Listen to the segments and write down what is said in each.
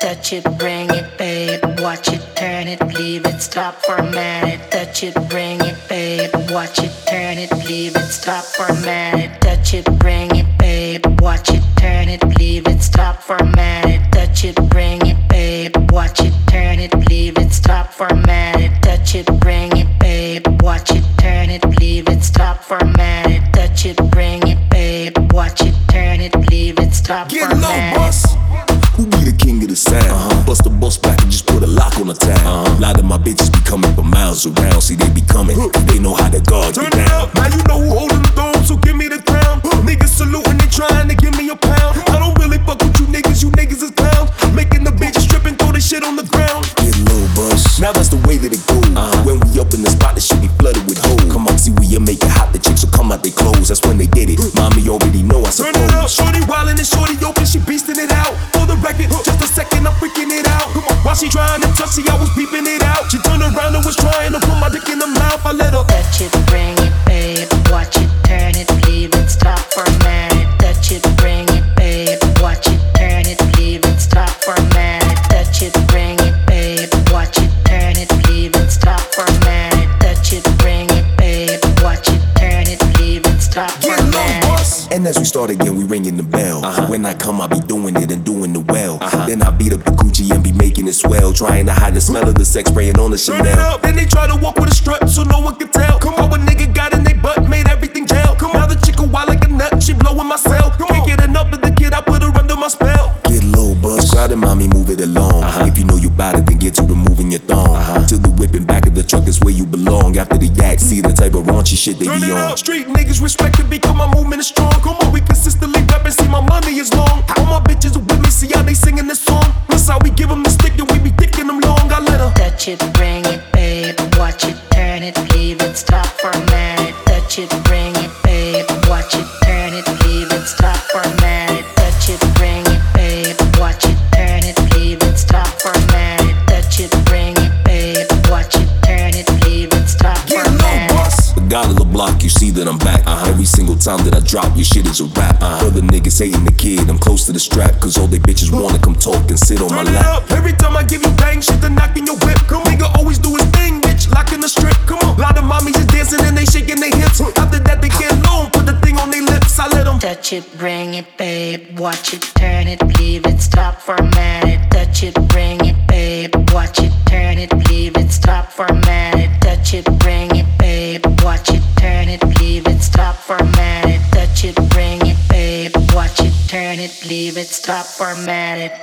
touch it, bring it, babe. Watch it, turn it, leave it, stop, format it. Touch it, bring it, babe. Watch it, turn it, leave it, stop, format it. Touch it, bring it, babe. Watch it, turn it, leave it, stop, format it. Touch it, bring it, babe. Watch it, turn it, leave it, stop, format it. Touch it, bring it, babe. Watch it, turn it, leave it, stop, format it. Touch it, bring it, babe. Watch it, turn it, leave it, stop, Get format low, it. boss. Who be the king of the sound? Bust the bus back and just put a lock on the town. A lot of my bitches be coming from miles around. See, they be coming, they know how to guard you down. Now you know who holding the throne, so give me the crown. Niggas saluting, they trying to give me a pound. I don't really fuck with you niggas is clowns. Making the bitches strip and throw this shit on the ground. Get low, boss. Now that's the way that it goes. When we up in the spot, the shit be flooded with hoes. Come on, see, we make it hot. The chicks will come out they clothes. That's when they did it. Mommy already know, I suppose. Turn it up, shorty wildin' and shorty open, she beastin' it out. For the record, just a second, I'm freaking it out. While she trying to touch, see, I was peeping it out. She turned around and was trying to put my dick in her mouth. I let her touch it, bring it, babe. Watch it, turn it, leave it, stop, format it. Touch it, bring it, babe. Watch it, turn it, leave it, stop, format it. Touch it, bring it, babe. Watch it, turn it, leave it, stop, format it. Touch it, bring it, babe. Watch it, turn it, leave it, stop, format it. And as we start again, we ringing the bell. When I come, I be doing it and doing it well. Then I beat up the Gucci and be making it swell. Trying to hide the smell of the sex spraying on the Chanel. Turn it up, then they try to walk with a strut so no one can tell. Come on, a nigga got in they butt, made everything gel. Come on, now the chick a wild like a nut, she blowing my cell. Can't get enough of the kid, I put her under my spell. Get low, buzz. Crowd and mommy, move it along. If you know you bout it, then get to removing your thong. Till the whipping back of the truck is where you belong. After the yak, see the type of raunchy shit they be on. Street niggas respect it because my movement is strong. Come on, we consistently rapping, see my money is long. All my bitches are with me, see how they singing this song. That's how we give them the stick and we be dicking them long. I let her touch it, bring it, babe. Watch it, turn it, leave it, stop, format it. Touch it, bring it, babe. Watch it, turn it, leave it, stop, format it. Touch it, bring it, babe. Watch it, turn it, leave it, stop, format it. Touch it, bring it, babe. Watch it, turn it, leave it, stop, format it. The God of the block, you see that I'm back. Every single time that I drop, your shit is a rap. Other niggas hating the kid, I'm close to the strap. Cause all they bitches wanna come talk and sit on my lap. Every time I give you bang, shit to knock in your whip. Come nigga always do his thing, bitch, locking the strip. Come on, lot of mommies is dancing and they shaking their hips. After that they get low, put the thing on their lips. I let them touch it, bring it, babe. Watch it, turn it, leave it, stop, format it. Touch it, bring it, babe. Watch it, turn it, leave it, stop, format it. Touch it, bring it, babe. Watch it, turn it, leave it, stop, format it. Touch it, bring it, babe. Watch it, turn it, leave it, stop, format it.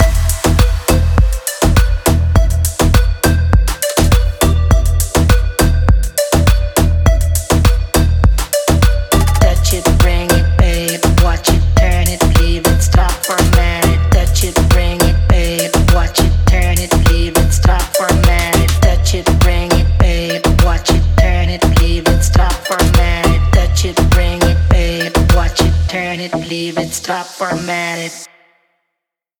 Touch it, bring it, babe. Watch it, turn it, leave it, stop, format it. Touch it, bring it, babe. Watch it, turn it, leave it, stop, format it. Touch it, bring it, babe. Watch it, turn it, leave it, stop, format it. Touch it, bring it, babe. Watch it, turn it, leave it, stop, format it.